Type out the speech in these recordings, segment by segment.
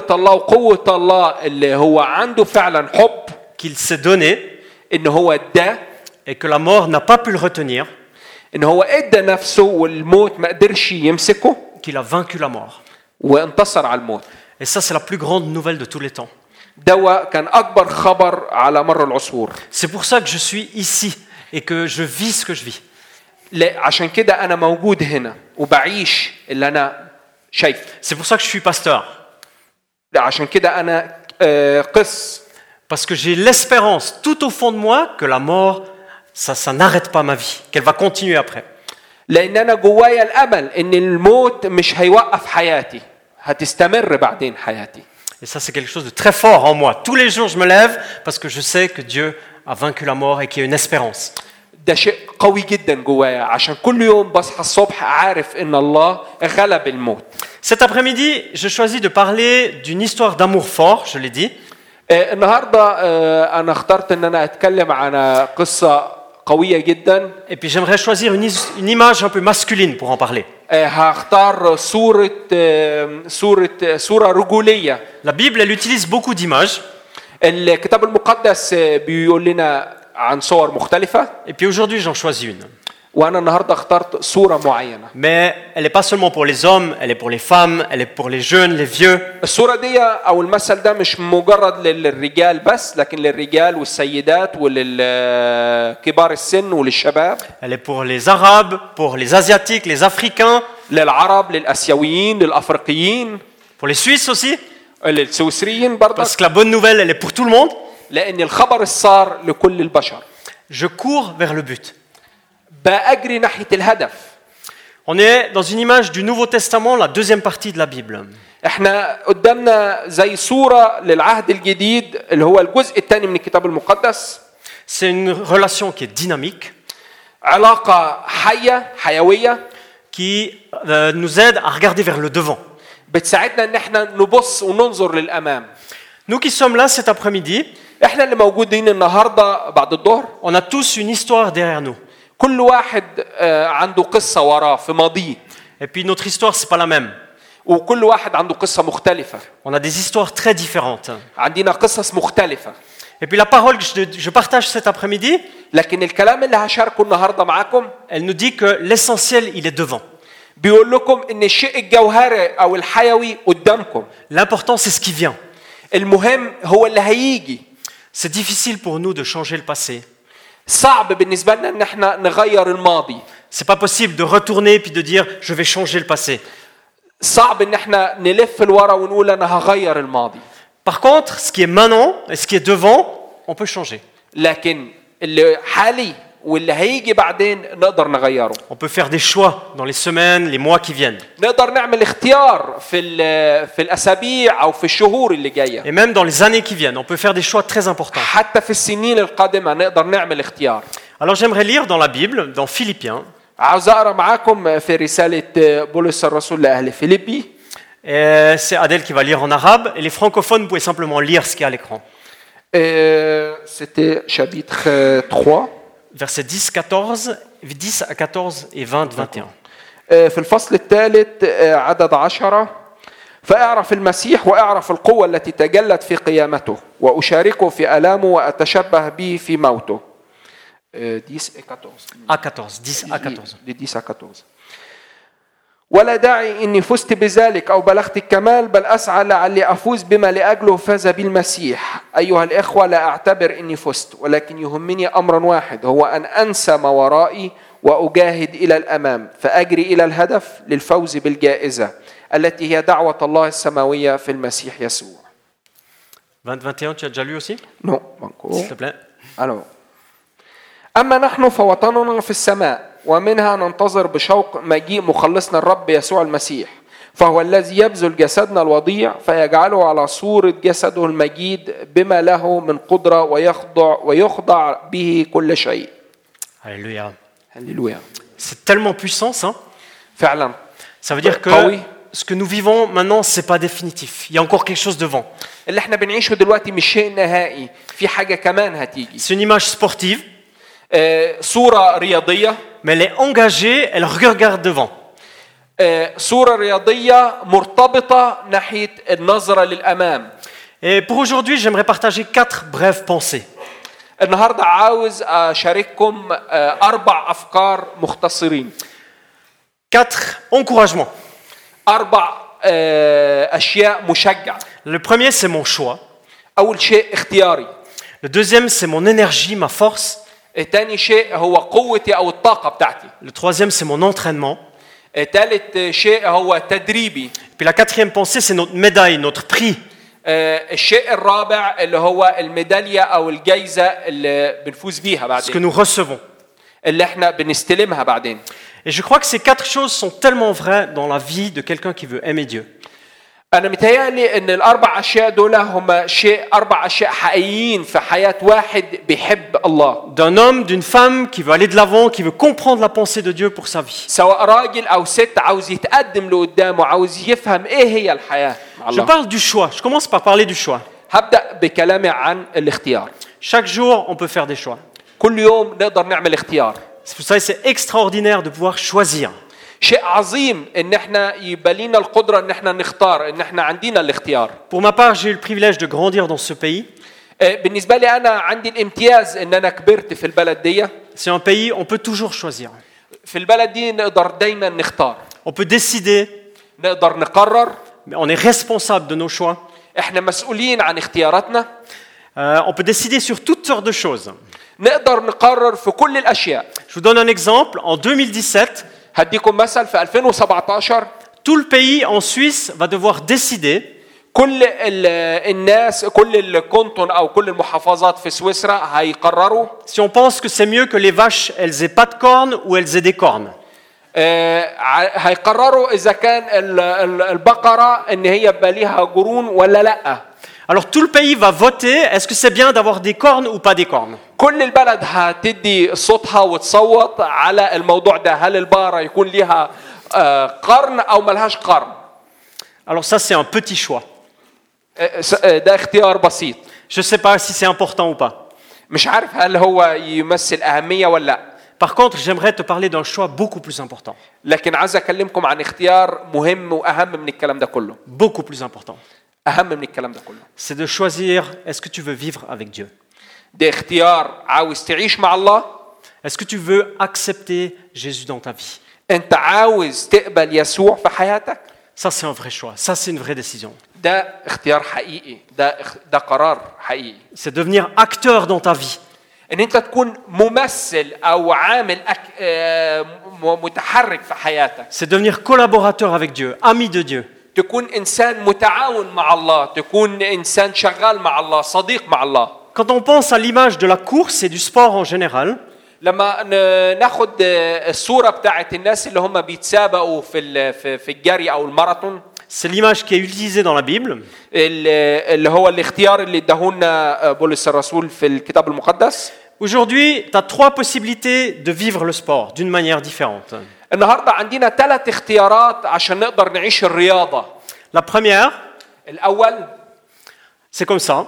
الله وقوة الله اللي هو عنده فعلا حب qu'il s'est donné إن هو ادى et que la mort n'a pas pu le retenir, إن هو ادى نفسه والموت ما قدرش يمسكه qu'il a vaincu la mort. وانتصر على الموت. Et ça, c'est la plus grande nouvelle de tous les temps. دوا كان أكبر خبر على مر العصور. C'est pour ça que je suis ici et que je vis ce que je vis. عشان كده أنا موجود هنا وبعيش اللي أنا شايف. C'est pour ça que je suis pasteur. عشان كده أنا قس. Parce que j'ai l'espérance tout au fond de moi que la mort, ça n'arrête pas ma vie, qu'elle va continuer après. لأن أنا جوايا الأمل إن الموت مش هيوقف حياتي، هتستمر بعدين حياتي. Et ça, c'est quelque chose de très fort en moi. Tous les jours, je me lève parce que je sais que Dieu a vaincu la mort et qu'il y a une espérance. ده شيء قوي جدا جوايا عشان كل يوم بصحى الصبح عارف إن الله غلب الموت. Cet après-midi, je choisis de parler d'une histoire d'amour fort, je l'ai dit. النهارده أنا اخترت إن أنا أتكلم عن قصة قوية جدا. Et puis j'aimerais choisir une image un peu masculine pour en parler. هختار صورة رجولية. La Bible, elle utilise beaucoup d'images. الكتاب المقدس بيقول لنا عن صور مختلفة. Et puis aujourd'hui, j'en choisis une. وأنا النهارده اخترت صورة معينة. Mais elle n'est pas seulement pour les hommes, elle est pour les femmes, elle est pour les jeunes, les vieux. الصورة دي أو المثل ده مش مجرد للرجال بس، لكن للرجال والسيدات وللكبار السن وللشباب. Elle est pour les Arabes, pour les Asiatiques, les Africains. للعرب، للآسيويين، للأفريقيين. Pour les Suisses aussi. للسويسريين برضه. Parce que la bonne nouvelle, elle est pour tout le monde. لأن الخبر السار لكل البشر. Je cours vers le but. بأجري ناحية الهدف. On est dans une image du Nouveau Testament, la deuxième partie de la Bible. احنا قدامنا زي صورة للعهد الجديد اللي هو الجزء الثاني من الكتاب المقدس. C'est une relation qui est dynamique. علاقة حية، حيوية. Qui nous aide à regarder vers le devant. بتساعدنا ان احنا نبص وننظر للأمام. Nous qui sommes là cet après-midi, احنا اللي موجودين النهارده بعد الظهر. on a tous une histoire derrière nous. كل واحد عنده قصة وراه في ماضيه. Et puis notre histoire, c'est pas la même. وكل واحد عنده قصة مختلفة. On a des histoires très différentes. عندنا قصص مختلفة. Et puis la parole que je partage cet après-midi, لكن الكلام اللي هشاركه النهارده معاكم elle nous dit que l'essentiel, il est devant. بيقول لكم ان الشيء الجوهري او الحيوي قدامكم. L'important, c'est ce qui vient. المهم هو اللي هيجي. C'est difficile pour nous de changer le passé. صعب بالنسبة لنا ان احنا نغير الماضي. C'est pas possible de retourner puis de dire je vais changer le passé. صعب ان احنا نلف لورا ونقول انا هغير الماضي. Par contre, ce qui est maintenant et ce qui est devant, on peut changer. لكن اللي حالي واللي هيجي بعدين نقدر نغيره. On peut faire des choix dans les semaines, les mois qui viennent. نقدر نعمل اختيار في الاسابيع او في الشهور اللي جايه. Et même dans les années qui viennent, on peut faire des choix très importants. حتى في السنين القادمه نقدر نعمل اختيار. Alors j'aimerais lire dans la Bible, dans Philippiens. عاوز اقرا معاكم في رساله بولس الرسول لاهل فيليبي. C'est Adèle qui va lire en arabe et les francophones, vous pouvez simplement lire ce qui est à l'écran. C'était chapitre 3. Versets 10 à 14 et 20, 21. في الفصل الثالث عدد 10 فاعرف المسيح واعرف القوة التي تجلت في قيامته وأشاركه في آلامه وأتشبه به في موته. 10 à 14. ولا داعي إني فزت بذلك أو بلغت الكمال بل أسعى لعلي أفوز بما لأجله فاز بالمسيح. أيها الإخوة لا أعتبر إني فزت ولكن يهمني أمر واحد هو أن أنسى ما ورائي وأجاهد إلى الأمام فأجري إلى الهدف للفوز بالجائزة التي هي دعوة الله السماوية في المسيح يسوع. 21, tu as déjà lu aussi? Non, encore. S'il te plaît. Alors. أما نحن فوطننا في السماء ومنها ننتظر بشوق مجيء مخلصنا الرب يسوع المسيح فهو الذي يبذل جسدنا الوضيع فيجعله على صورة جسده المجيد بما له من قدرة ويخضع به كل شيء. Alléluia. Alléluia. C'est tellement puissant ça. فعلا. Ça veut dire que ce que nous vivons maintenant, c'est pas définitif. Il y a encore quelque chose devant. اللي احنا بنعيشه دلوقتي مش شيء نهائي، في حاجة كمان هتيجي. C'est une image sportive. صورة رياضية. Mais elle est engagée, elle regarde devant. صورة رياضية مرتبطة ناحية النظرة للأمام. Et pour aujourd'hui, j'aimerais partager 4 brèves pensées. النهاردة عاوز أشارككم 4 أفكار مختصرين. 4 encouragements. 4 أشياء مشجعة. Le premier, c'est mon choix. أول شيء اختياري. Le deuxième, c'est mon énergie, ma force. ثاني شيء هو قوتي أو الطاقة بتاعتي. Le troisième, c'est mon entraînement. ثالث شيء هو تدريبي. Puis la quatrième pensée, c'est notre médaille, notre prix. الشيء الرابع اللي هو الميدالية أو الجائزة اللي بنفوز بيها Ce que بعدين. nous recevons. اللي احنا بنستلمها بعدين. Et je crois que ces 4 choses sont tellement vraies dans la vie de quelqu'un qui veut aimer Dieu. أنا متهيألي إن ال4 أشياء دول هم 4 أشياء حقيقيين في حياة واحد بيحب الله. D'un homme, d'une femme qui veut aller de l'avant, qui veut comprendre la pensée de Dieu pour sa vie. سواء راجل أو ست عاوز يتقدم لقدامه، عاوز يفهم إيه هي الحياة مع Je الله. parle du choix. Je commence par parler du choix. هبدأ بكلامي عن الاختيار. Chaque jour, on peut faire des choix. كل يوم نقدر نعمل اختيار. Vous savez, c'est extraordinaire de pouvoir choisir. شيء عظيم ان احنا يبقى لينا القدره ان احنا نختار، ان احنا عندنا الاختيار. Pour ma part, j'ai eu le privilège de grandir dans ce pays. بالنسبه لي انا عندي الامتياز ان انا كبرت في البلد دي. C'est un pays, on peut toujours choisir. في البلد دي نقدر دايما نختار. On peut décider, نقدر نقرر. mais on est responsable de nos choix. احنا مسؤولين عن اختياراتنا. On peut décider sur toutes sortes de choses. نقدر نقرر في كل الاشياء. Je vous donne un exemple. En 2017, هديكم مثل في 2017 tout le pays en Suisse va devoir décider كل الناس، كل الكونتون او كل المحافظات في سويسرا هيقرروا si on pense que c'est mieux que les vaches, elles aient pas de cornes ou elles aient des cornes. هيقرروا اذا كان البقره ان هي يبقى ليها قرون ولا لا. Alors tout le pays va voter, est-ce que c'est bien d'avoir des cornes ou pas des cornes? كل البلد هتدي صوتها وتصوت على الموضوع ده، هل البقره يكون ليها قرن او ملهاش قرن. Alors ça c'est un petit choix. ده اختيار بسيط. Je sais pas si c'est important ou pas. مش عارف هل هو يمثل اهميه ولا لا. Par contre, j'aimerais te parler d'un choix beaucoup plus important. لكن عايز اكلمكم عن اختيار مهم واهم من الكلام ده كله. Beaucoup plus important. اهم من الكلام ده كله. C'est de choisir, est-ce que tu veux vivre avec Dieu? ده اختيار عاوز تعيش مع الله. Est-ce que tu veux accepter Jésus dans ta vie? انت عاوز تقبل يسوع في حياتك. Ça c'est un vrai choix, ça c'est une vraie décision. ده اختيار حقيقي، ده قرار حقيقي. C'est devenir acteur dans ta vie. ان انت تكون ممثل او عامل متحرك في حياتك. C'est devenir collaborateur avec Dieu, ami de Dieu. تكون انسان متعاون مع الله، تكون انسان شغال مع الله، صديق مع الله. Quand on pense à l'image de la course et du sport en général, لما ناخد الصوره بتاعت الناس اللي هم بيتسابقوا في الجري او الماراثون، c'est l'image qui est utilisée dans la Bible. اللي هو الاختيار اللي اداهولنا بولس الرسول في الكتاب المقدس. Aujourd'hui, tu as 3 possibilités de vivre le sport d'une manière différente. النهارده عندنا 3 اختيارات عشان نقدر نعيش الرياضه. La première, الاول c'est comme ça.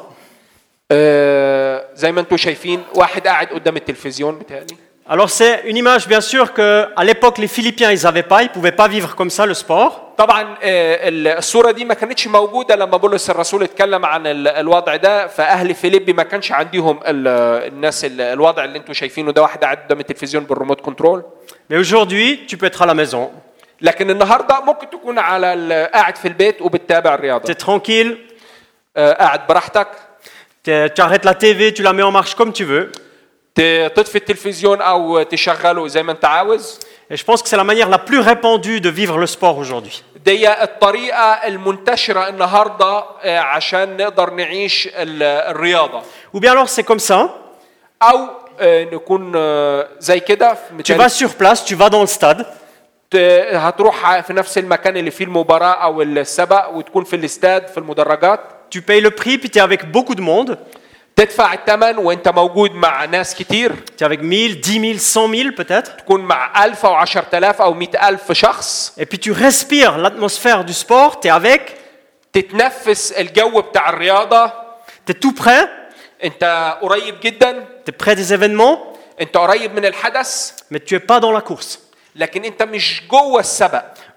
زي ما انتم شايفين واحد قاعد قدام التلفزيون بتاعي. Alors c'est une image bien sûr que à l'époque les Philippiens ils avaient pas, ils pouvaient pas vivre comme ça le sport. طبعا الصوره دي ما كانتش موجوده لما بولس الرسول اتكلم عن الوضع ده، فاهل فيليبي ما كانش عندهم الناس الوضع اللي انتم شايفينه ده، واحد قاعد قدام التلفزيون بالريموت كنترول. Mais aujourd'hui, tu peux être à la maison. لكن النهارده ممكن تكون على قاعد في البيت وبتتابع الرياضه. Tu es tranquille. قاعد براحتك. Tu arrêtes la TV, tu la mets en marche comme tu veux. تطفي التلفزيون او تشغله زي ما انت عاوز. Et je pense que c'est la manière la plus répandue de vivre le sport aujourd'hui. دي الطريقه المنتشره النهارده عشان نقدر نعيش الرياضه. Ou bien alors c'est comme ça. او نكون زي كده. Tu vas sur place, tu vas dans le stade. هتروح في نفس المكان اللي فيه المباراه او السباق وتكون في الاستاد في المدرجات. Tu payes le prix puis tu es avec beaucoup de monde. تدفع الثمن وانت موجود مع ناس كتير. Tu es avec 1000, 10 000, 100 000 peut-être. تكون مع 1000 أو 10,000 أو 100,000 شخص. Et puis tu respires l'atmosphère du sport, tu es avec. تتنفس الجو بتاع الرياضة. Tu es tout près. انت قريب جدا. Tu es près des événements. انت قريب من الحدث. Mais tu es pas dans la course. لكن انت مش جوه السبق.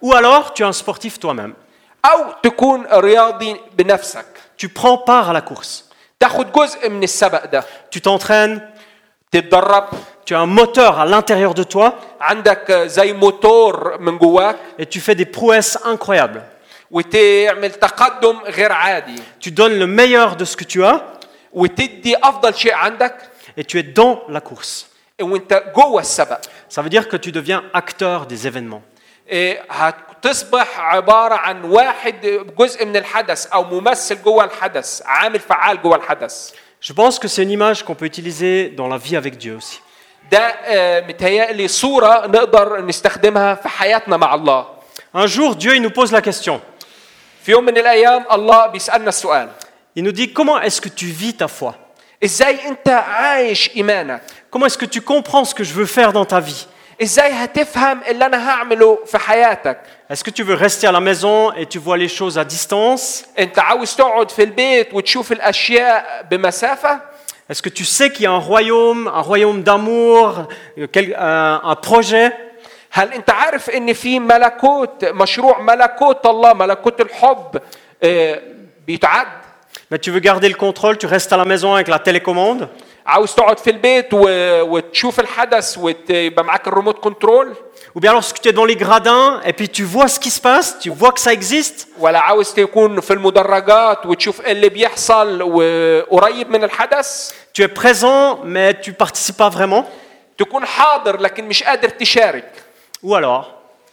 Ou alors, tu es un sportif toi-même. أو تكون رياضي بنفسك، Tu prends part à la course. تاخد جزء من السبق ده، Tu t'entraînes, تتدرب، tu as un moteur à l'intérieur de toi عندك زي موتور من جواك et tu fais des prouesses incroyables. وتعمل تقدم غير عادي Tu donnes le meilleur de ce que tu as وتدي أفضل شيء عندك et tu es dans la course. وانت جوه السبق. Ça veut dire que tu deviens acteur des événements. هتصبح عبارة عن واحد جزء من الحدث أو ممثل جوه الحدث، عامل فعال جوه الحدث. Je pense que c'est une image qu'on peut utiliser dans la vie avec Dieu aussi. ده متهيألي صورة نقدر نستخدمها في حياتنا مع الله. Un jour, Dieu il nous pose la question. في يوم من الأيام الله بيسألنا السؤال. Il nous dit comment est-ce que tu vis ta foi? إزاي أنت عايش إيمانك؟ Comment est-ce que tu comprends ce que je veux faire dans ta vie? إزاي هتفهم اللي أنا هعمله في حياتك؟ Est-ce que tu veux rester à la maison et tu vois les choses à distance? أنت عاوز تقعد في البيت وتشوف الأشياء بمسافة؟ Est-ce que tu sais qu'il y a un royaume d'amour, un projet? هل أنت عارف إن في ملكوت، مشروع ملكوت الله، ملكوت الحب بيتعد؟ Mais tu veux garder le contrôle, tu restes à la maison avec la télécommande? عاوز تقعد في البيت وتشوف الحدث ويبقى معاك الريموت كنترول؟ Ou bien lorsque tu es dans les gradins et puis tu vois ce qui se passe, tu vois que ça existe? ولا عاوز تكون في المدرجات وتشوف اللي بيحصل وقريب من الحدث؟ Tu es présent mais tu participes pas vraiment? تكون حاضر لكن مش قادر تشارك. Ou alors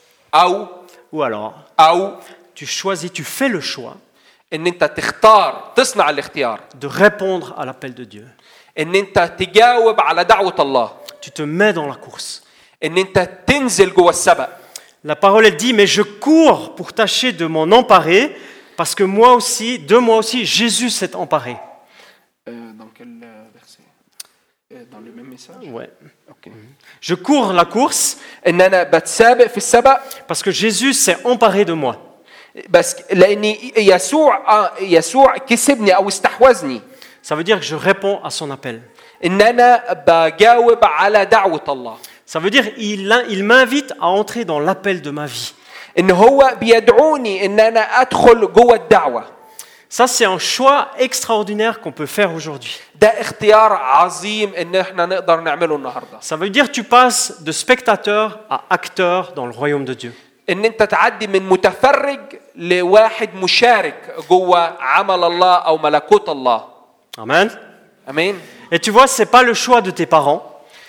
أو tu choisis, tu fais le choix إن أنت تختار، تصنع الاختيار de répondre à l'appel de Dieu. إن أنت تجاوب على دعوة الله، Tu te mets dans la course. إن أنت تنزل جوه السبق. La parole elle dit mais je cours pour tâcher de m'en emparer parce que moi aussi, de moi aussi, Jésus s'est emparé. Dans quel verset? Dans le même message? Ouais. OK. Je cours la course إن أنا بتسابق في السبق parce que Jésus s'est emparé de moi. بس لأني يسوع كسبني أو استحوذني. Ça veut dire que je réponds à son appel. إن أنا بجاوب على دعوة الله. Ça veut dire il m'invite à entrer dans l'appel de ma vie. إن هو بيدعوني إن أنا أدخل جوه الدعوة. Ça c'est un choix extraordinaire qu'on peut faire aujourd'hui. ده اختيار عظيم إن إحنا نقدر نعمله النهاردة. Ça veut dire que tu passes de spectateur à acteur dans le royaume de Dieu. إن أنت تعدي من متفرج لواحد مشارك جوه عمل الله أو ملكوت الله. Amen. أمين. Et tu vois, c'est pas le choix de tes parents.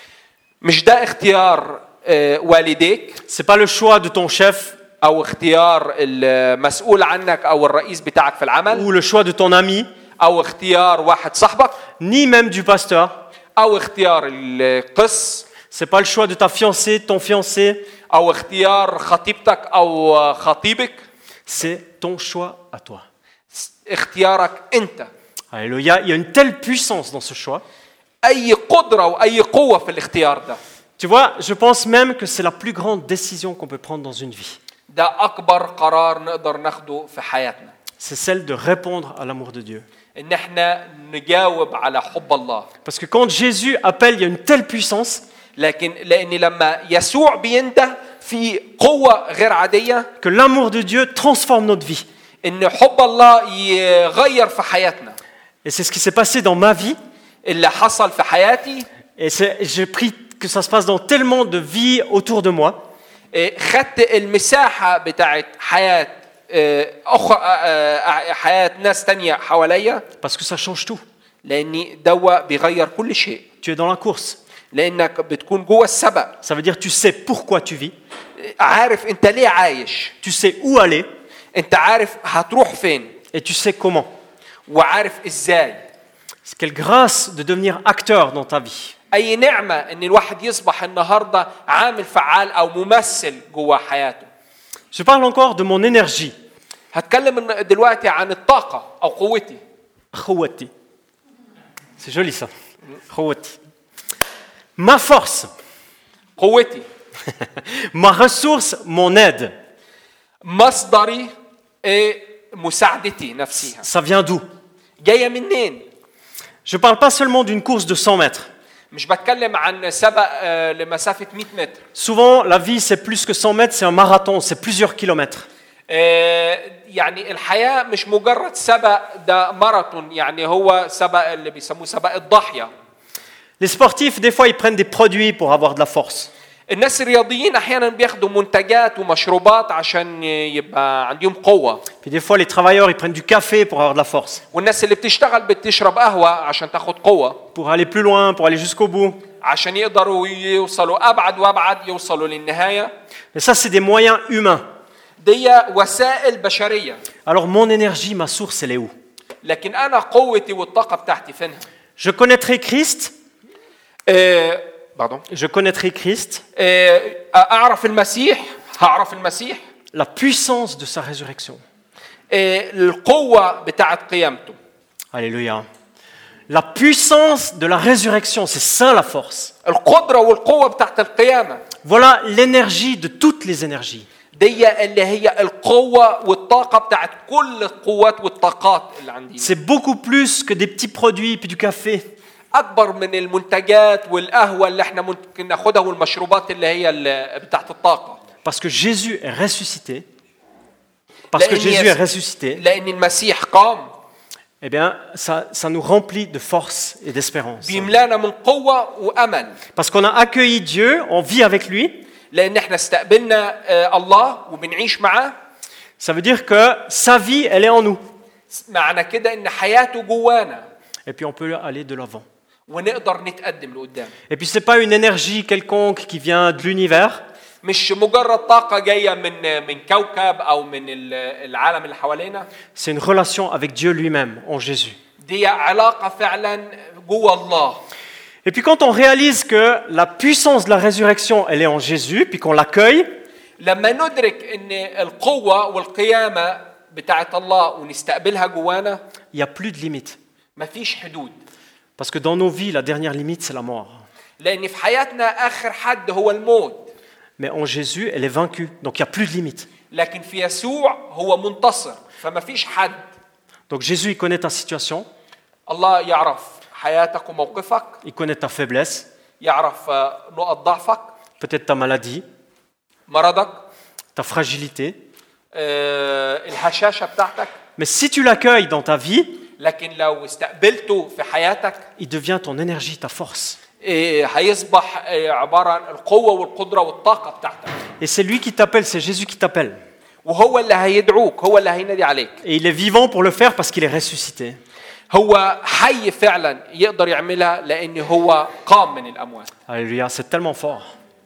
مش ده اختيار والديك. C'est pas le choix de ton chef. أو اختيار المسؤول عنك أو الرئيس بتاعك في العمل. Ou le choix de ton ami. أو اختيار واحد صاحبك. Ni même du pasteur. أو اختيار القس. C'est pas le choix de ta fiancée, de ton fiancé. أو اختيار خطيبتك أو خطيبك. C'est ton choix à toi. اختيارك أنت. Alléluia. Il y a une telle puissance dans ce choix. أي قدرة وأي قوة في الاختيار ده. Tu vois, je pense même que c'est la plus grande décision qu'on peut prendre dans une vie. ده أكبر قرار نقدر ناخده في حياتنا. C'est celle de répondre à l'amour de Dieu. إن إحنا نجاوب على حب الله. Parce que quand Jésus appelle, il y a une telle puissance. لكن لأن لما يسوع بينده في قوة غير عادية. Que l'amour de Dieu transforme notre vie. إن حب الله يغير في حياتنا. Et c'est ce qui s'est passé dans ma vie. اللي حصل في حياتي. Et j'ai pris que ça se passe dans tellement de vies autour de moi. خدت المساحة بتاعت حياة حياة ناس تانية حواليا. Parce que ça change tout. لأني دوا بيغير كل شيء. Tu es dans la course. لأنك بتكون جوه السبق. Ça veut dire tu sais pourquoi tu vis. عارف أنت ليه عايش. Tu sais où aller. أنت عارف هتروح فين. Et tu sais comment. وعارف إزاي. Quelle grâce de devenir acteur dans ta vie. أي نعمة إن الواحد يصبح النهاردة عامل فعال أو ممثل جوه حياته. Je parle encore de mon énergie. هتكلم دلوقتي عن الطاقة أو قوتي. خوتي. C'est joli ça. خوتي. Ma force. قوتي. Ma ressource, mon aide. مصدري مساعدتي نفسها. Ça vient d'où? جاية منين؟ Je ne parle pas seulement d'une course de 100 mètres. مش بتكلم عن سبق لمسافة 100 متر. Souvent, la vie, c'est plus que 100 mètres, c'est un marathon, c'est plusieurs kilomètres. يعني الحياة مش مجرد سبق، ده ماراثون، يعني هو سبق اللي بيسموه سبق الضاحية. Les sportifs, des fois, ils prennent des produits pour avoir de la force. الناس الرياضيين احيانا بياخدوا منتجات ومشروبات عشان يبقى عندهم قوة. Puis des fois, les travailleurs, ils prennent du café pour avoir de la force. والناس اللي بتشتغل بتشرب قهوة عشان تاخد قوة. Pour aller plus loin, pour aller jusqu'au bout. عشان يقدروا يوصلوا أبعد وأبعد، يوصلوا للنهاية. Et ça, c'est des moyens humains. دي وسائل بشرية. Alors, mon énergie, ma source, elle est où? لكن أنا قوتي والطاقة بتاعتي فينها؟ Je connaîtrai Christ. Pardon. Je connaîtrai Christ. أعرف المسيح، هعرف المسيح. La puissance de sa résurrection. القوة بتاعت قيامته. Alléluia. La puissance de la résurrection, c'est ça la force. القدرة والقوة بتاعت القيامة. Voilà l'énergie de toutes les énergies. دي اللي هي القوة والطاقة بتاعت كل القوات والطاقات اللي عندي. C'est beaucoup plus que des petits produits puis du café. أكبر من المنتجات والقهوة اللي احنا ممكن ناخدها والمشروبات اللي هي بتاعت الطاقة. Parce que Jésus est ressuscité. Parce que Jésus est ressuscité. لأن المسيح قام. Eh bien, ça nous remplit de force et d'espérance. بيملانا من قوة وأمل. Parce qu'on a accueilli Dieu, on vit avec lui. لأن احنا استقبلنا الله وبنعيش معاه. Ça veut dire que sa vie, elle est en nous. معنى كده إن حياته جوانا. Et puis on peut aller de l'avant. ونقدر نتقدم لقدام. Et puis c'est pas une énergie quelconque qui vient de l'univers. مش مجرد طاقة جاية من كوكب أو من العالم اللي حوالينا. C'est une relation avec Dieu lui-même, en Jésus. دي علاقة فعلا جوا الله. Et puis quand on réalise que la puissance de la résurrection, elle est en Jésus, puis qu'on l'accueille, لما ندرك إن القوة والقيامة بتاعت الله ونستقبلها جوانا. il n'y a plus de limite. مفيش حدود. Parce que dans nos vies, la dernière limite, c'est la mort. لأن في حياتنا آخر حد هو الموت. Mais en Jésus, elle est vaincue. Donc il n'y a plus de limite. لكن في يسوع هو منتصر، فما فيش حد. Donc Jésus, il connaît ta situation. الله يعرف حياتك وموقفك. Il connaît ta faiblesse. يعرف نقط ضعفك. Peut-être ta maladie. مرضك. Ta fragilité. الهشاشة بتاعتك. Mais si tu l'accueilles dans ta vie, لكن لو استقبلته في حياتك، il devient ton énergie, ta force. هيصبح عبارة عن القوة والقدرة والطاقة بتاعتك. Et c'est lui qui t'appelle, c'est Jésus qui t'appelle. وهو اللي هيدعوك، هو اللي هينادي عليك. Et il est vivant pour le faire parce qu'il est ressuscité. هو حي فعلا يقدر يعملها لأن هو قام من الأموات. Alléluia, c'est tellement fort.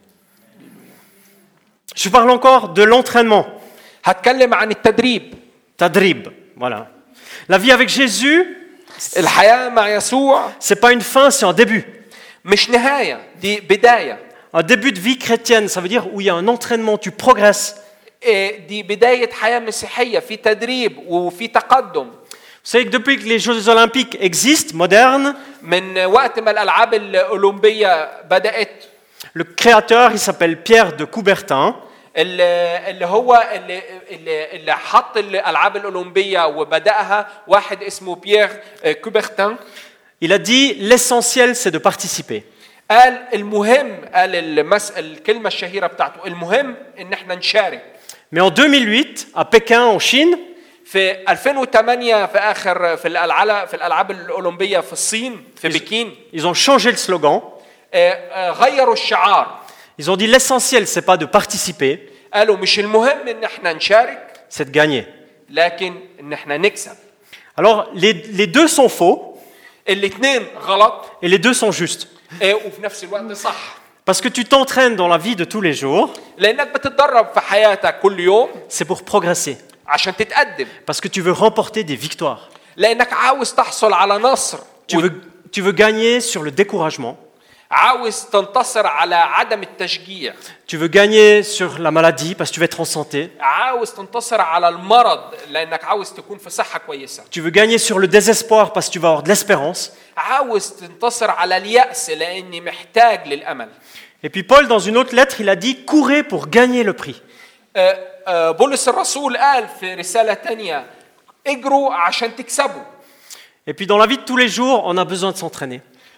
Je parle encore de l'entraînement. هتكلم عن التدريب. Tadrib, voilà. La vie avec Jésus, الحياة مع يسوع c'est pas une fin, c'est un début. مش نهاية، دي بداية. Un début de vie chrétienne, ça veut dire où il y a un entraînement, tu progresses. دي بداية حياة مسيحية في تدريب وفي تقدم. Vous savez que depuis que les Jeux Olympiques existent, modernes, من وقت ما الألعاب الأولمبية بدأت. Le créateur, il s'appelle Pierre de Coubertin. اللي هو اللي حط الألعاب الأولمبية وبدأها واحد اسمه بيير كوبرتان. Il a dit l'essentiel c'est de participer. قال المهم، قال الكلمة الشهيرة بتاعته، المهم إن احنا نشارك. Mais en 2008, à Pékin, en Chine, في 2008 في الألعاب الأولمبية في الصين في بكين. Ils ont changé le slogan. غيروا الشعار. Ils ont dit l'essentiel c'est pas de participer. قالوا مش المهم إن احنا نشارك. C'est de gagner. لكن إن احنا نكسب. Alors les deux sont faux. الاثنين غلط. Et les deux sont justes. وفي نفس الوقت صح. Parce que tu t'entraînes dans la vie de tous les jours. لأنك بتتدرب في حياتك كل يوم. C'est pour progresser. عشان تتقدم. Parce que tu veux remporter des victoires. لأنك عاوز تحصل على نصر. Tu veux gagner sur le découragement. عاوز تنتصر على عدم التشجيع. Tu veux gagner sur la maladie parce que tu veux être en santé. عاوز تنتصر على المرض لأنك عاوز تكون في صحة كويسة. Tu veux gagner sur le désespoir parce que tu vas avoir de l'espérance. عاوز تنتصر على اليأس لأني محتاج للأمل. Et puis Paul, dans une autre lettre, il a dit « Courez pour gagner le prix ». بولس الرسول قال في رسالة تانية اجروا عشان تكسبوا. Et puis dans la vie de tous les jours, on a besoin de s'entraîner.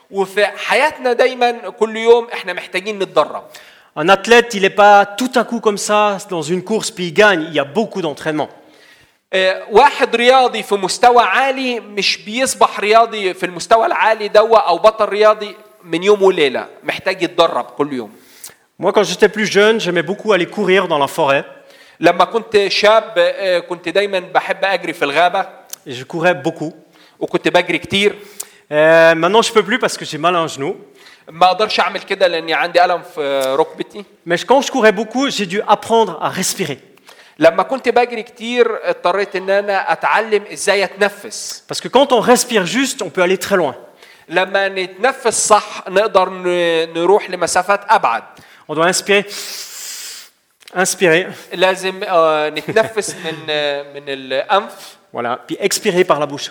وفي حياتنا دايما كل يوم احنا محتاجين نتدرب. Un athlète, il n'est pas tout à coup comme ça dans une course puis il gagne. Il y a beaucoup d'entraînement. واحد رياضي في مستوى عالي مش بيصبح رياضي في المستوى العالي دوا او بطل رياضي من يوم وليله، محتاج يتدرب كل يوم. Moi, quand j'étais plus jeune, j'aimais beaucoup aller courir dans la forêt. لما كنت شاب كنت دايما بحب اجري في الغابه. Et je courais beaucoup. وكنت بجري كتير. Maintenant, je peux plus parce que j'ai mal à un genou. ما اقدرش اعمل كده لاني عندي الم في ركبتي. Mais quand je courais beaucoup, j'ai dû apprendre à respirer. لما كنت بجري كتير اضطريت ان انا اتعلم ازاي اتنفس. Parce que quand on respire juste, on peut aller très loin. لما نتنفس صح نقدر نروح لمسافات ابعد. On doit inspirer. Inspirer. لازم نتنفس من الانف. Voilà. Puis expirer par la bouche.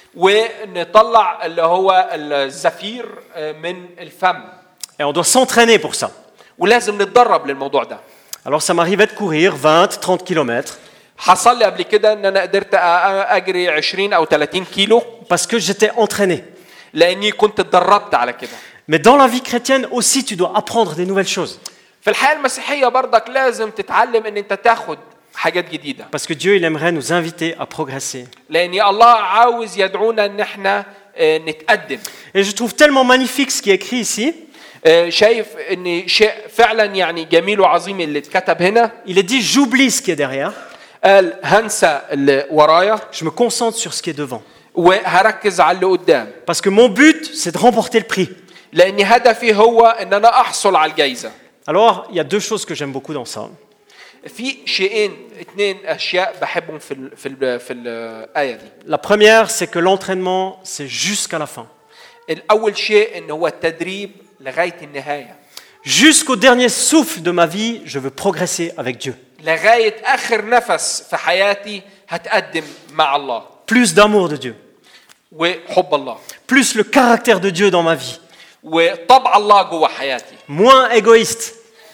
ونطلع اللي هو الزفير من الفم. Et on doit s'entraîner pour ça. ولازم نتدرب للموضوع ده. Alors ça m'arrivait de courir 20-30 kilomètres. حصل لي قبل كده ان انا قدرت اجري 20 او 30 كيلو. Parce que j'étais entraîné. لاني كنت اتدربت على كده. Mais dans la vie chrétienne aussi, tu dois apprendre des nouvelles choses. في الحياة المسيحية برضك لازم تتعلم ان انت تاخد حاجات جديدة. Parce que Dieu, il aimerait nous inviter à progresser. لأن الله عاوز يدعونا ان احنا نتقدم. Et je trouve tellement magnifique ce qui est écrit ici. شايف ان شيء فعلا يعني جميل وعظيم اللي اتكتب هنا. Il est dit, j'oublie ce qui est derrière. قال هنسى اللي ورايا. Je me concentre sur ce qui est devant. وهركز على اللي قدام. Parce que mon but, c'est de remporter le prix. لأن هدفي هو ان انا احصل على الجائزة. Alors, il y a deux choses que j'aime beaucoup dans ça. في شيئين اثنين اشياء بحبهم في الآية دي. La première, c'est que l'entraînement, c'est jusqu'à la fin. الأول شيء ان هو التدريب لغاية النهاية. Jusqu'au dernier souffle de ma vie, je veux progresser avec Dieu. لغاية آخر نفس في حياتي هتقدم مع الله. Plus d'amour de Dieu. وحب الله. Plus le caractère de Dieu dans ma vie. وطبع الله جوا حياتي. Moins égoïste.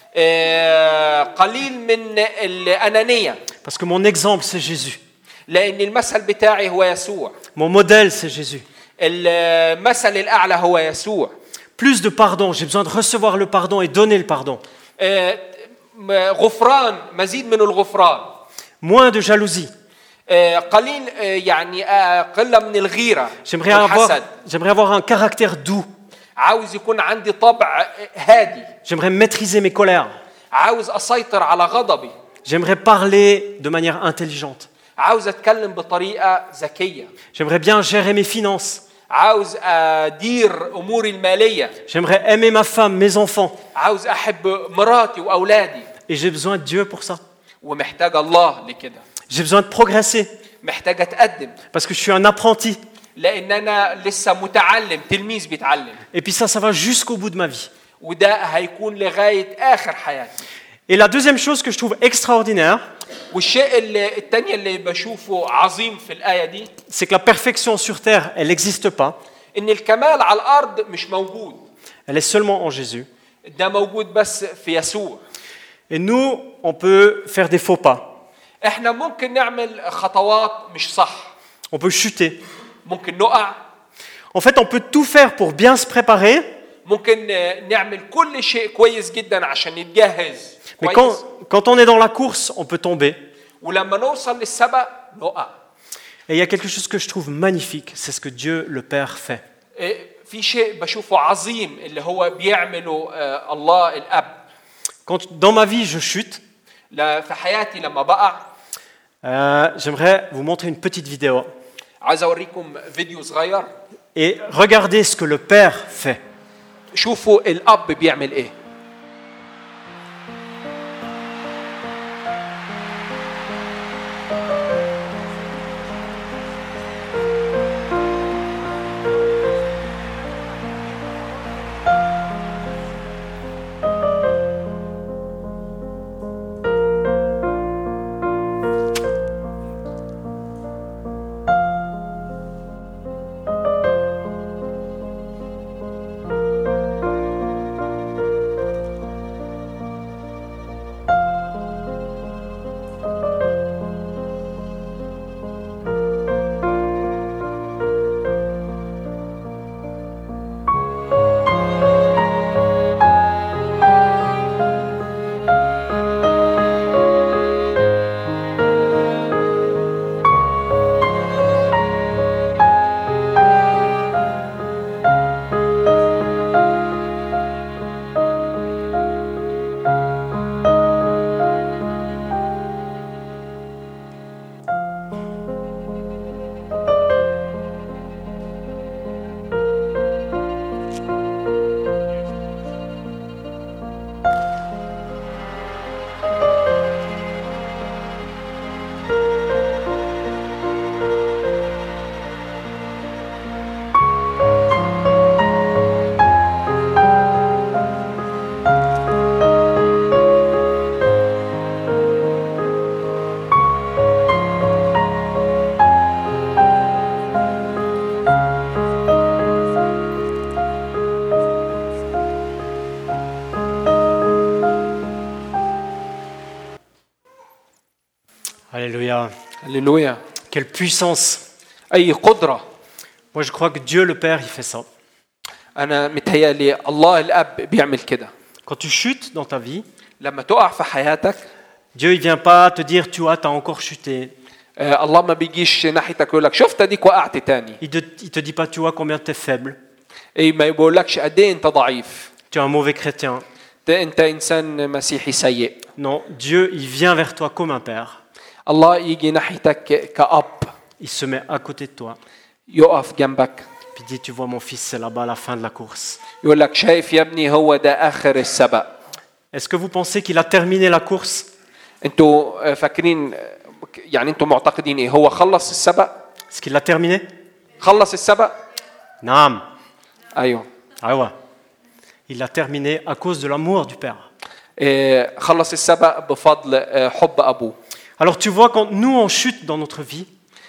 قليل من الأنانية. Parce que mon exemple, c'est Jésus. لأن المثل بتاعي هو يسوع. Mon modèle, c'est Jésus. المثل الأعلى هو يسوع. Plus de pardon. J'ai besoin de recevoir le pardon et donner le pardon. غفران، مزيد من الغفران. Moins de jalousie. قليل يعني قلة من الغيرة والحسد. J'aimerais avoir un caractère doux. عاوز يكون عندي طبع هادي. J'aimerais maîtriser mes colères. عاوز أسيطر على غضبي. J'aimerais parler de manière intelligente. عاوز أتكلم بطريقة ذكية. J'aimerais bien gérer mes finances. عاوز أدير أموري المالية. J'aimerais aimer ma femme, mes enfants. عاوز أحب مراتي وأولادي. Et j'ai besoin de Dieu pour ça. ومحتاج الله لكده. J'ai besoin de progresser. محتاج أتقدم. Parce que je suis un apprenti. لأن أنا لسه متعلم، تلميذ بيتعلم. Et puis ça va jusqu'au bout de ma vie. وده هيكون لغاية آخر حياتي. Et la deuxième chose que je trouve extraordinaire, والشيء الثاني اللي بشوفه عظيم في الآية دي، c'est que la perfection sur terre, elle n'existe pas. إن الكمال على الأرض مش موجود. Elle est seulement en Jésus. ده موجود بس في يسوع. Et nous, on peut faire des faux pas. إحنا ممكن نعمل خطوات مش صح. On peut chuter. ممكن نقع. En fait, on peut tout faire pour bien se préparer. ممكن نعمل كل شيء كويس جدا عشان نتجهز. Mais quand on est dans la course, on peut tomber. ولما نوصل للسبق نقع. Et il y a quelque chose que je trouve magnifique, c'est ce que Dieu le Père fait. في شيء بشوفه عظيم اللي هو بيعمله الله الأب. Quand dans ma vie je chute, في حياتي لما بقع. J'aimerais vous montrer une petite vidéo. عايز أوريكم فيديو صغير. Et regardez ce que le Père fait. شوفوا الأب بيعمل إيه. هللويا. Quelle puissance! اي قدره. Moi, je crois que Dieu le Père, il fait ça. انا متهيألي الله الاب بيعمل كده. Quand tu chutes dans ta vie, لما تقع في حياتك Dieu, il vient pas te dire, tu vois, t'as encore chuté. الله ما بيجيش ناحيتك يقول لك شفت اديك وقعت تاني. Il te dit pas, tu vois combien t'es faible. اي ما بيقولكش قد ايه انت ضعيف. Tu es un mauvais chrétien. انت انسان مسيحي سيء. Non, Dieu, il vient vers toi comme un père. الله يجي ناحيتك كأب. Il se met à côté de toi. يقف جنبك. Puis il dit, tu vois mon fils, c'est là-bas à la fin de la course. يقول لك شايف يا ابني هو ده آخر السبق. Est-ce que vous pensez qu'il a terminé la course? انتوا فاكرين يعني انتوا معتقدين ايه هو خلص السبق؟ Est-ce qu'il l'a terminé? خلص السبق؟ نعم. ايوه. Ah ouais. Il l'a terminé à cause de l'amour du père. خلص السبق بفضل حب ابوه. Alors tu vois, quand nous on chute dans notre vie,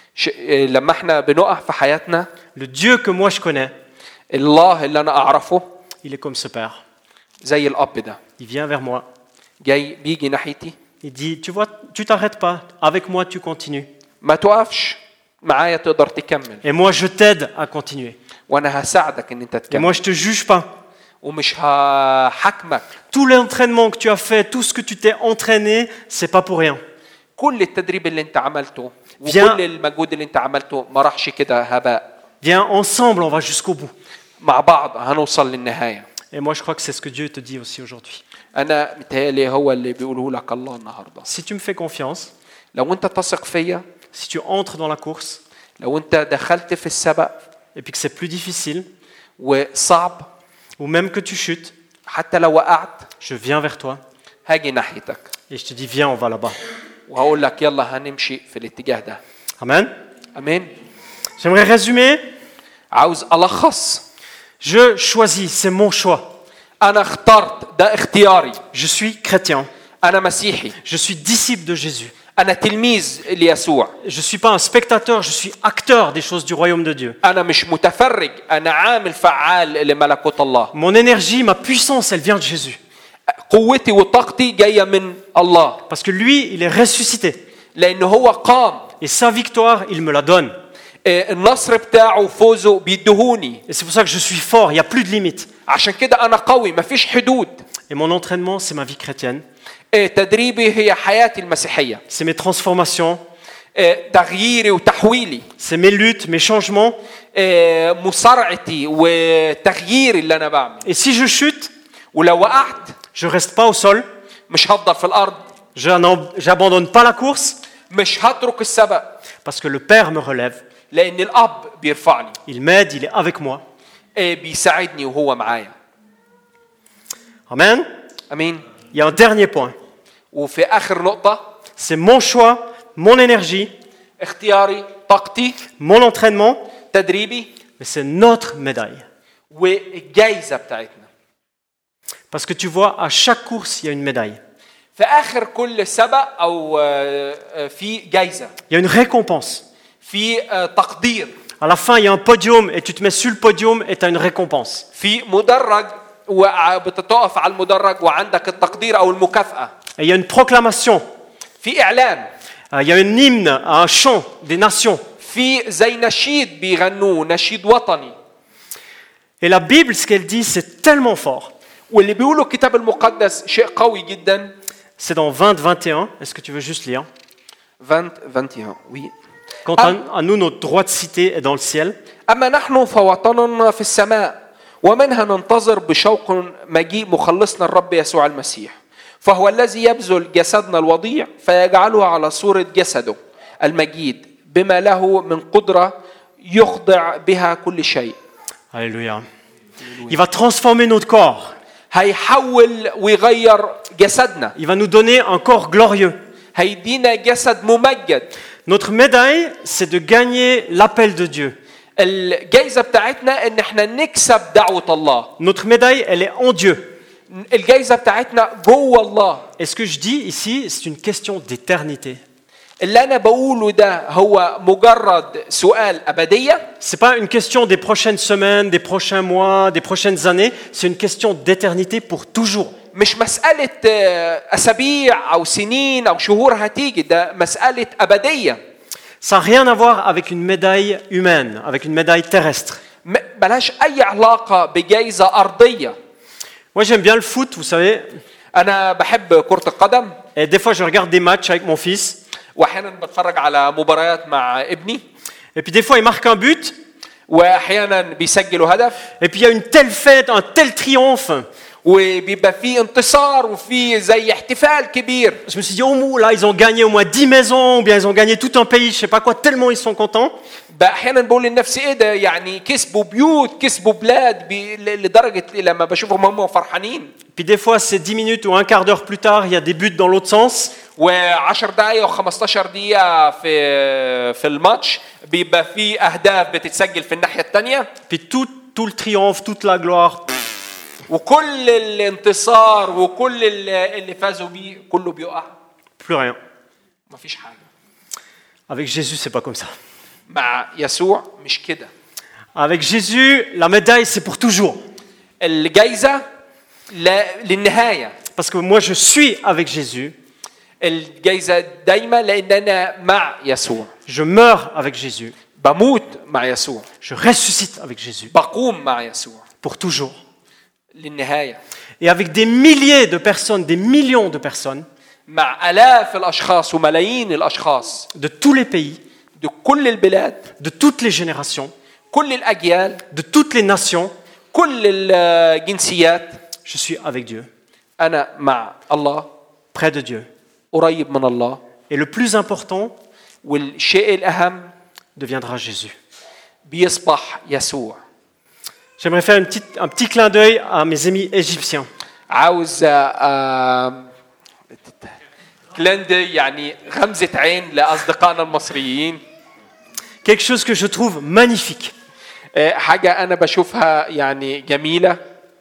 لما احنا بنقع في حياتنا le Dieu que moi je connais, الله اللي انا اعرفه il est comme ce père. زي الاب ده. Il vient vers moi. جاي بيجي ناحيتي. Il dit, tu vois, tu t'arrêtes pas. Avec moi, tu continues. ما توقفش معايا تقدر تكمل. Et moi, je t'aide à continuer. وانا هساعدك ان انت Et تكمل. moi, je te juge pas. ومش هحكمك. Tout l'entraînement que tu as fait, tout ce que tu t'es entraîné, c'est pas pour rien. كل التدريب اللي انت عملته Viens. وكل المجهود اللي انت عملته ما راحش كده هباء. Viens, ensemble, on va jusqu'au bout. مع بعض هنوصل للنهاية. Et moi, je crois que c'est ce que Dieu te dit aussi aujourd'hui. أنا متهيألي هو اللي بيقوله لك الله النهاردة. Si tu me fais confiance, لو أنت تثق فيا، si tu entres dans la course, لو أنت دخلت في السبق et puis que c'est plus difficile, وصعب، ou même que tu chutes, حتى لو وقعت، je viens vers toi هاجي ناحيتك. et je te dis, viens, on va là-bas. وهقول لك يلا هنمشي في الاتجاه ده. Amen. أمين. J'aimerais résumer. عاوز ألخص. Je choisis, c'est mon choix. أنا اخترت، ده اختياري. Je suis chrétien. أنا مسيحي. Je suis disciple de Jésus. أنا تلميذ ليسوع. Je ne suis pas un spectateur, je suis acteur des choses du royaume de Dieu. أنا مش متفرج، أنا عامل فعال لملكوت الله. Mon énergie, ma puissance, elle vient de Jésus. قوتي وطاقتي جاية من الله. Parce que lui, il est ressuscité. لأنه هو قام. Et sa victoire, il me la donne. النصر بتاعه فوزه بيدهوني. Et c'est pour ça que je suis fort, il n'y a plus de limites. عشان كده أنا قوي، مفيش حدود. Et mon entraînement, c'est ma vie chrétienne. تدريبي هي حياتي المسيحية. C'est mes transformations. تغييري وتحويلي. C'est mes luttes, mes changements. مصارعتي وتغييري اللي أنا بعمل. Et si je chute, ولو وقعت je reste pas au sol. مش هفضل في الأرض. J'abandonne pas la course. مش هترك السبق. Parce que le Père me relève. لأن الأب بيرفعني. Il m'aide, il est avec moi. بيساعدني وهو معايا. Amen. أمين. Il y a un dernier point. وفي آخر نقطة. C'est mon choix, mon énergie, اختياري، طاقتي، mon entraînement, تدريبي. mais c'est notre médaille. والجايزة بتاعتنا. Parce que tu vois, à chaque course, il y a une médaille. في آخر كل سبق أو في جايزة. Il y a une récompense. في تقدير. À la fin, il y a un podium et tu te mets sur le podium et tu as une récompense. في مدرج وبتتوقف على المدرج وعندك التقدير أو المكافأة. Et il y a une proclamation. في إعلان. Il y a un hymne, un chant des nations. في زي نشيد بيغنوه، نشيد وطني. Et la Bible, ce qu'elle dit, c'est tellement fort. واللي بيقوله الكتاب المقدس شيء قوي جدا. C'est dans 20-21. Est-ce que tu veux juste lire? 20-21, oui. Quant à nous, notre droit de cité est dans le ciel. أما نحن فوطننا في السماء ومنها ننتظر بشوق مجيء مخلصنا الرب يسوع المسيح فهو الذي يبذل جسدنا الوضيع فيجعله على صورة جسده المجيد بما له من قدرة يخضع بها كل شيء. Alléluia. Il va transformer notre corps. هيحول ويغير جسدنا. Il va nous donner un corps glorieux. هيدينا جسد ممجد. Notre médaille, c'est de gagner l'appel de Dieu. الجائزة بتاعتنا إن إحنا نكسب دعوة الله. Notre médaille, elle est en Dieu. الجائزة بتاعتنا جوه الله. Et ce que je dis ici, c'est une question d'éternité. اللي أنا بقوله ده هو مجرد سؤال أبدية. C'est pas une question des prochaines semaines, des prochains mois, des prochaines années. C'est une question d'éternité pour toujours. مش مسألة أسابيع أو سنين أو شهور هتيجي، ده مسألة أبدية. Ça n'a rien à voir avec une médaille humaine, avec une médaille terrestre. ملهاش اي علاقه بجائزه ارضيه. Moi, j'aime bien le foot, vous savez. انا بحب كره القدم Et des fois, je regarde des matchs avec mon fils. واحيانا بتفرج على مباريات مع ابني Et puis des fois, il marque un but. واحيانا بيسجلوا هدف Et puis il y a une telle fête, un tel triomphe. وبيبقى في انتصار وفي زي احتفال كبير. Je me suis dit, oh là, ils ont gagné au moins 10 maisons, ou bien ils ont gagné tout un pays, je sais pas quoi, tellement ils sont contents. بقى احيانا بقول لنفسي ايه ده يعني كسبوا بيوت كسبوا بلاد لدرجه لما بشوفهم هم فرحانين. Puis des fois, c'est 10 minutes ou un quart d'heure plus tard, il y a des buts dans l'autre sens. و10 دقائق و15 دقيقه في الماتش بيبقى في اهداف بتتسجل في الناحيه الثانيه. Puis tout le triomphe, toute la gloire. وكل الانتصار وكل اللي فازوا بيه كله بيقع. Plus rien. مفيش حاجه. Avec Jésus, c'est pas comme ça. مع يسوع مش كده. Avec Jésus, la médaille, c'est pour toujours. الجايزه للنهايه. Parce que moi, je suis avec Jésus. الجايزه دايما لان انا مع يسوع. Je meurs avec Jésus. بموت مع يسوع. Je ressuscite avec Jésus. بقوم مع يسوع. Pour toujours. للنهايه. Et avec des milliers de personnes, des millions de personnes. مع آلاف الأشخاص وملايين الأشخاص. De tous les pays. de كل البلاد. De toutes les générations. كل الأجيال. De toutes les nations. كل الجنسيات. Je suis avec Dieu. أنا مع الله. Près de Dieu. قريب من الله. Et le plus important. والشيء الأهم. Deviendra Jésus. بيصبح يسوع. J'aimerais faire un petit clin d'œil à mes amis égyptiens. عاوز كلندي يعني غمزة عين لأصدقائنا المصريين. Quelque chose que je trouve magnifique. حاجة أنا بشوفها يعني جميلة.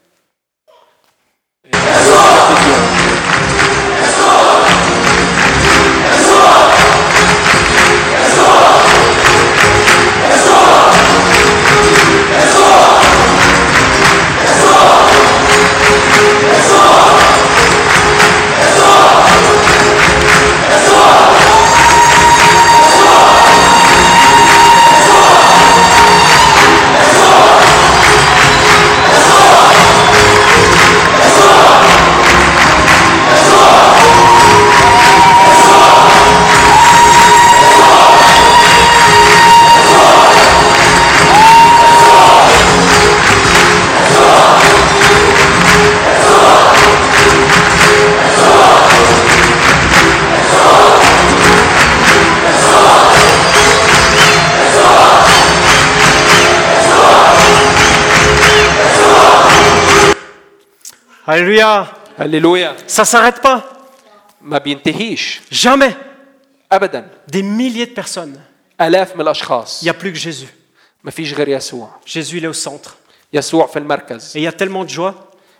Alléluia. Alléluia. Ça s'arrête pas. ما بينتهيش. Jamais. أبدا. Des milliers de personnes. آلاف من الأشخاص. Il n'y a plus que Jésus. ما فيش غير يسوع. Jésus, il est au centre. يسوع في المركز. Et il y a tellement de joie.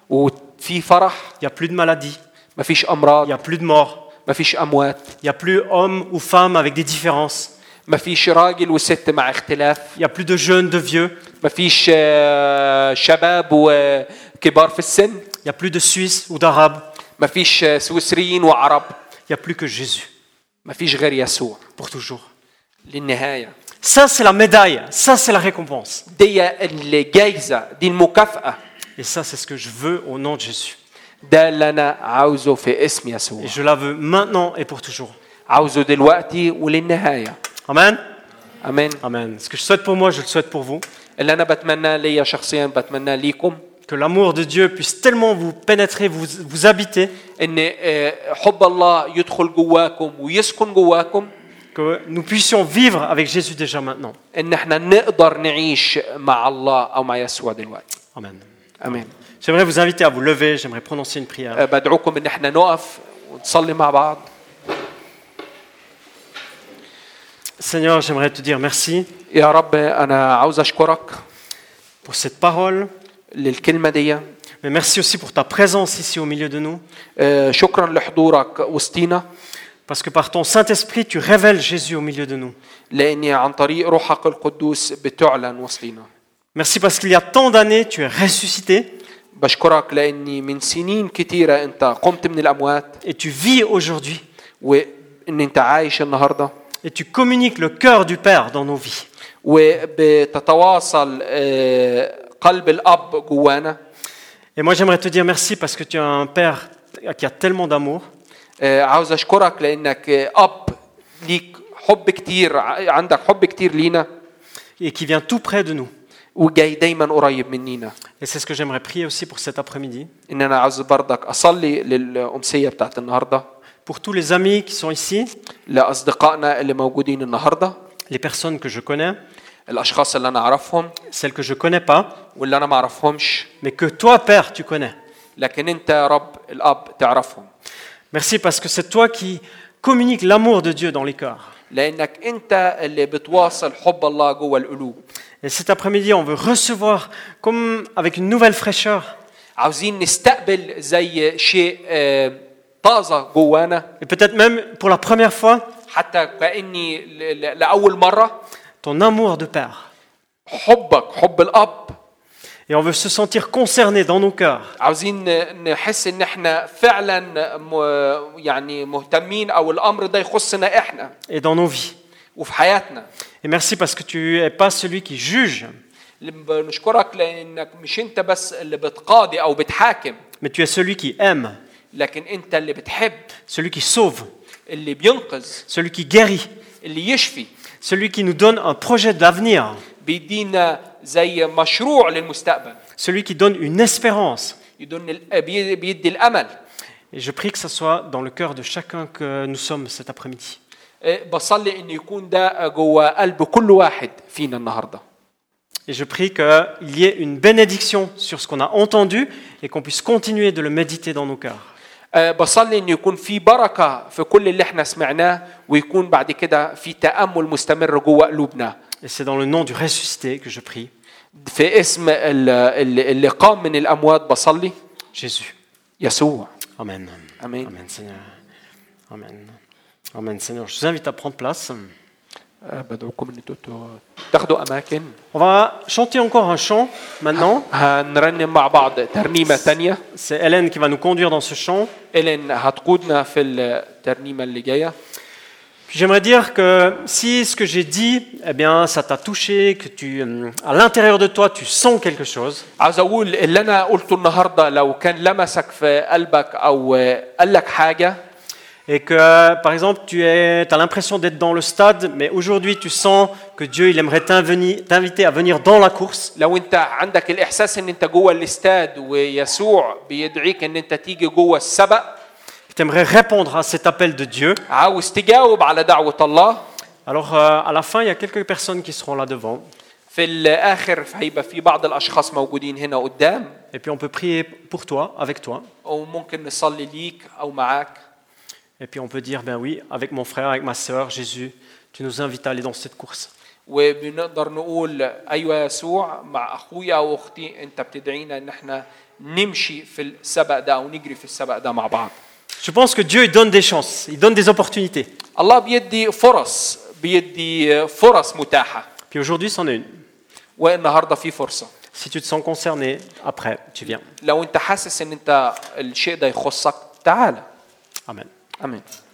وفي فرح. Il n'y a plus de maladie. ما فيش أمراض. Il n'y a plus de mort. ما فيش أموات. Il n'y a plus homme ou femme avec des différences. ما فيش راجل وست مع اختلاف. Il n'y a plus de jeunes, de vieux. ما فيش شباب وكبار في السن. Il n'y a plus de Suisses ou d'Arabes. ما فيش سويسريين وعرب. Il n'y a plus que Jésus. ما فيش غير يسوع. Pour toujours. للنهاية. Ça, c'est la médaille. Ça, c'est la récompense. دي الجائزة دي المكافأة. Et ça, c'est ce que je veux au nom de Jésus. ده اللي أنا عاوزه في اسم يسوع. Et je la veux maintenant et pour toujours. عاوزه دلوقتي وللنهاية. Amen. أمين. Amen. Ce que je souhaite pour moi, je le souhaite pour vous. اللي أنا بتمنى ليا شخصيا بتمنى ليكم. Que l'amour de Dieu puisse tellement vous pénétrer, vous habiter. إن حب الله يدخل جواكم ويسكن جواكم. Que nous puissions vivre avec Jésus déjà maintenant. إن إحنا نقدر نعيش مع الله أو مع يسوع دلوقتي. Amen. أمين. J'aimerais vous inviter à vous lever, j'aimerais prononcer une prière. بدعوكم إن إحنا نقف ونصلي مع بعض. Seigneur, j'aimerais te dire merci يا رب أنا عاوز أشكرك pour cette parole, للكلمة دي. mais merci aussi pour ta présence ici au milieu de nous. شكرا لحضورك وسطينا. Parce que par ton Saint-Esprit, tu révèles Jésus au milieu de nous. لأني عن طريق روحك القدوس بتعلن وسطينا. Merci parce qu'il y a tant d'années, tu es ressuscité بشكرك لأني من سنين كتيرة أنت قمت من الأموات et tu vis aujourd'hui. وإن أنت عايش النهاردة. et tu communiques le cœur du Père dans nos vies. وبتتواصل قلب الأب جوانا. Et moi j'aimerais te dire merci parce que tu as un Père qui a tellement d'amour. عاوز أشكرك لأنك أب ليك حب كتير، عندك حب كتير لينا Et qui vient tout près de nous. وجاي دايما قريب منينا. Et c'est ce que j'aimerais prier aussi pour cet après-midi. إن أنا عاوز برضك أصلي للأمسية بتاعت النهاردة. Pour tous les amis qui sont ici, لأصدقائنا اللي موجودين النهاردة، les personnes que je connais, الأشخاص اللي أنا أعرفهم celles que je connais pas, واللي أنا ما أعرفهمش، mais que toi, Père, tu connais. لكن أنت يا رب الأب تعرفهم. Merci parce que c'est toi qui communiques l'amour de Dieu dans les cœurs. لأنك أنت اللي بتواصل حب الله جوه القلوب. Et cet après-midi, on veut recevoir comme avec une nouvelle fraîcheur. عاوزين نستقبل زي شيء طازة جوانا. Et peut-être même pour la première fois, حتى كأني لأول مرة ton amour de Père. حبك، حب الأب. Et on veut se sentir concerné dans nos cœurs. عاوزين نحس إن إحنا فعلا يعني مهتمين أو الأمر ده يخصنا إحنا. Et dans nos vies. وفي حياتنا. Et merci parce que tu n'es pas celui qui juge. نشكرك لأنك مش أنت بس اللي بتقاضي أو بتحاكم. Mais tu es celui qui aime. لكن أنت اللي بتحب. Celui qui sauve. اللي بينقذ. Celui qui guérit. اللي يشفي. Celui qui nous donne un projet d'avenir. بيدينا زي مشروع للمستقبل. Celui qui donne une espérance. بيدي الأمل. Et je prie que ça soit dans le cœur de chacun que nous sommes cet après-midi. بصلي إنه يكون ده جوا قلب كل واحد فينا النهارده. Et je prie qu'il y ait une bénédiction sur ce qu'on a entendu et qu'on puisse continuer de le méditer dans nos cœurs. بصلي إنه يكون في بركة في كل اللي إحنا سمعناه ويكون بعد كده في تأمل مستمر جوا قلوبنا. Et c'est dans le nom du ressuscité que je prie. في اسم اللي قام من الأموات بصلي. Jésus. يسوع. Amen. Amen. Amen, Seigneur. Amen. Amen, Seigneur. Je vous invite à prendre place. بدعوكم إن انتوا تاخدوا أماكن. On va chanter encore un chant maintenant. هنرنم مع بعض ترنيمة تانية. C'est Hélène qui va nous conduire dans ce chant. إلين هتقودنا في الترنيمة اللي جاية. Puis j'aimerais dire que si ce que j'ai dit, eh bien, ça t'a touché, que à l'intérieur de toi, tu sens quelque chose. عاوز أقول اللي أنا قلته النهاردة لو كان لمسك في قلبك أو قال لك حاجة. Et que, par exemple, tu as l'impression d'être dans le stade, mais aujourd'hui tu sens que Dieu il aimerait t'inviter à venir dans la course. لو أنت عندك الإحساس إن أنت جوه الاستاد ويسوع بيدعيك إن أنت تيجي جوه السبق. Tu aimerais répondre à cet appel de Dieu. عاوز تجاوب على دعوة الله. Alors, à la fin, il y a quelques personnes qui seront là devant. في الآخر هيبقى في بعض الأشخاص موجودين هنا قدام. Et puis on peut prier pour toi, avec toi. أو ممكن نصلي ليك أو معاك. Et puis on peut dire, ben oui, avec mon frère, avec ma sœur, Jésus, tu nous invites à aller dans cette course. وبنقدر نقول أيوة يسوع مع أخويا أو أختي أنت بتدعينا إن إحنا نمشي في السبق ده أو نجري في السبق ده مع بعض. Je pense que Dieu il donne des chances, il donne des opportunités. الله بيدي فرص متاحة. Puis aujourd'hui, c'en est une. والنهارده في فرصة. Si tu te sens concerné, après, tu viens. لو أنت حاسس إن أنت الشيء ده يخصك تعال. Amen. آمين.